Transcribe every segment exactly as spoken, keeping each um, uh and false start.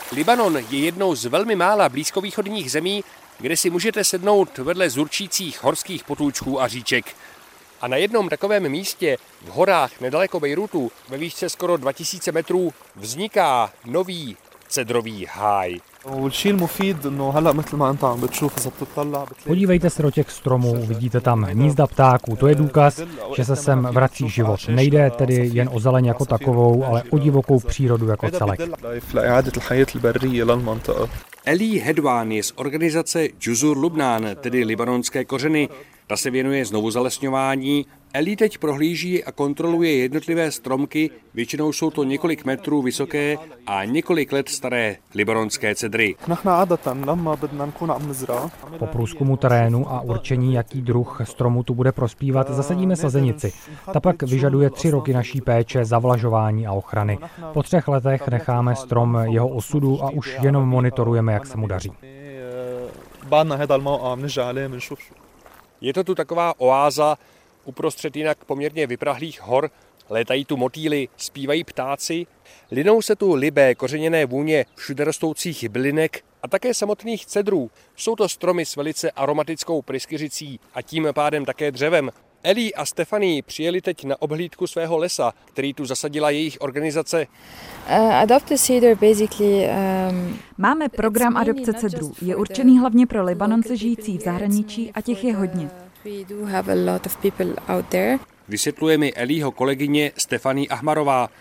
Libanon je jednou z velmi mála blízkovýchodních zemí, kde si můžete sednout vedle zurčících horských potůčků a říček. A na jednom takovém místě v horách nedaleko Bejrutu ve výšce skoro dva tisíce metrů vzniká nový cedrový háj. Podívejte se do těch stromů, vidíte tam hnízda ptáků, to je důkaz, že se sem vrací život. Nejde tedy jen o zeleň jako takovou, ale o divokou přírodu jako celek. Eli Hedwan je z organizace Juzur Lubnan, tedy libanonské kořeny. Ta se věnuje znovu zalesňování. Eli teď prohlíží a kontroluje jednotlivé stromky, většinou jsou to několik metrů vysoké a několik let staré libanonské cedry. Po průzkumu terénu a určení, jaký druh stromu tu bude prospívat, zasadíme sazenici. Ta pak vyžaduje tři roky naší péče, zavlažování a ochrany. Po třech letech necháme strom jeho osudu a už jenom monitorujeme, jak se mu daří. Je to tu taková oáza uprostřed jinak poměrně vyprahlých hor, létají tu motýly, zpívají ptáci, linou se tu libé kořeněné vůně všude rostoucích bylinek a také samotných cedrů. Jsou to stromy s velice aromatickou pryskyřicí a tím pádem také dřevem. Eli a Stephanie přijeli teď na obhlídku svého lesa, který tu zasadila jejich organizace. Máme program adopce cedrů. Je určený hlavně pro Libanonce žijící v zahraničí a těch je hodně. Vysvětluje mi Eliho kolegyně Stephanie Ahmarová.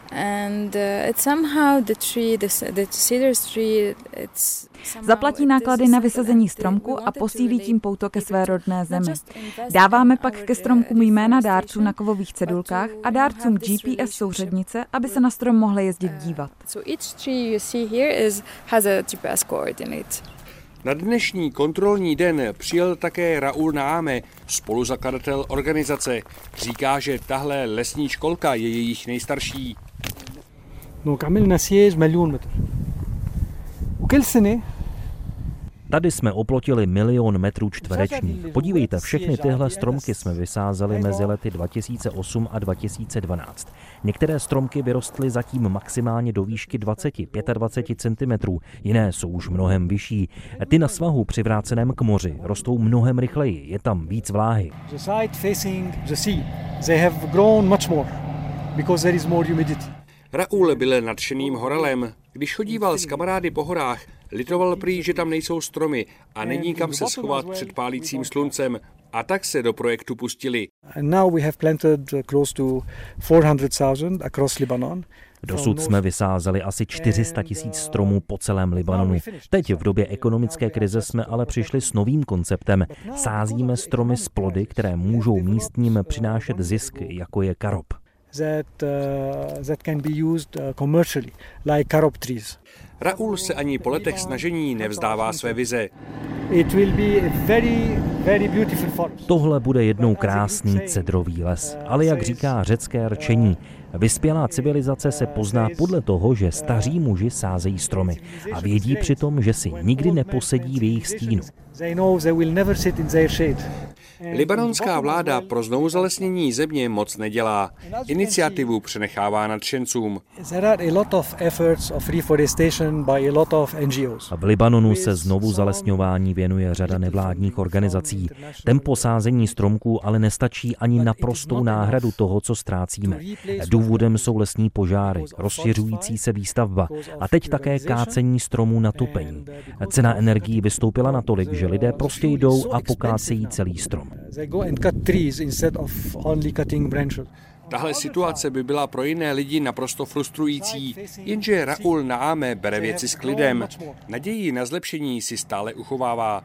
Zaplatí náklady na vysazení stromku a posílí tím pouto ke své rodné zemi. Dáváme pak ke stromkům jména dárců na kovových cedulkách a dárcům G P S souřadnice, aby se na strom mohli jezdit dívat. Na dnešní kontrolní den přijel také Raoul Naame, spoluzakladatel organizace. Říká, že tahle lesní školka je jejich nejstarší. Tady jsme oplotili milion metrů čtverečních. Podívejte, všechny tyhle stromky jsme vysázeli mezi lety dva tisíce osm a dva tisíce dvanáct. Některé stromky vyrostly zatím maximálně do výšky dvacet až dvacet pět centimetrů, jiné jsou už mnohem vyšší. Ty na svahu přivráceném k moři rostou mnohem rychleji, je tam víc vláhy. Raoul byl nadšeným horelem. Když chodíval s kamarády po horách, litoval prý, že tam nejsou stromy a není kam se schovat před pálícím sluncem. A tak se do projektu pustili. Dosud jsme vysázeli asi čtyři sta tisíc stromů po celém Libanonu. Teď v době ekonomické krize jsme ale přišli s novým konceptem. Sázíme stromy s plody, které můžou místním přinášet zisk, jako je karob. That, uh, that can be used uh, commercially, like carob trees. Raoul se ani po letech snažení nevzdává své vize. It will be a very, very beautiful forest. Tohle bude jednou krásný cedrový les, ale jak říká řecké rčení, vyspělá civilizace se pozná podle toho, že staří muži sázejí stromy a vědí přitom, že si nikdy neposedí v jejich stínu. Libanonská vláda pro znovuzalesnění země moc nedělá. Iniciativu přenechává nadšencům. V Libanonu se znovu zalesňování věnuje řada nevládních organizací. Tempo sázení stromků ale nestačí ani na prostou náhradu toho, co ztrácíme. Důvodem jsou lesní požáry, rozšiřující se výstavba a teď také kácení stromů na topení. Cena energií vystoupila natolik, že lidé prostě jdou a pokácejí celý strom. Tahle situace by byla pro jiné lidi naprosto frustrující, jenže Raoul Naame bere věci s klidem. Naději na zlepšení si stále uchovává.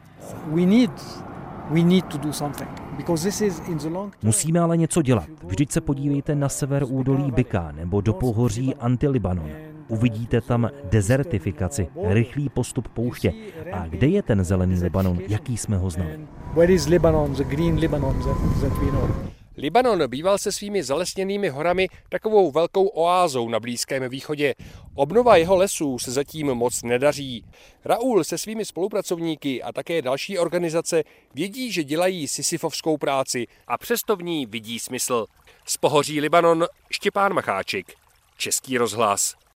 Musíme ale něco dělat. Vždyť se podívejte na sever údolí Bika nebo do pohoří Antilibanon. Uvidíte tam dezertifikaci, rychlý postup pouště. A kde je ten zelený Libanon, jaký jsme ho znali? Libanon býval se svými zalesněnými horami takovou velkou oázou na Blízkém východě. Obnova jeho lesů se zatím moc nedaří. Raoul se svými spolupracovníky a také další organizace vědí, že dělají sisyfovskou práci a přesto v ní vidí smysl. Z pohoří Libanon Štěpán Macháčik, Český rozhlas.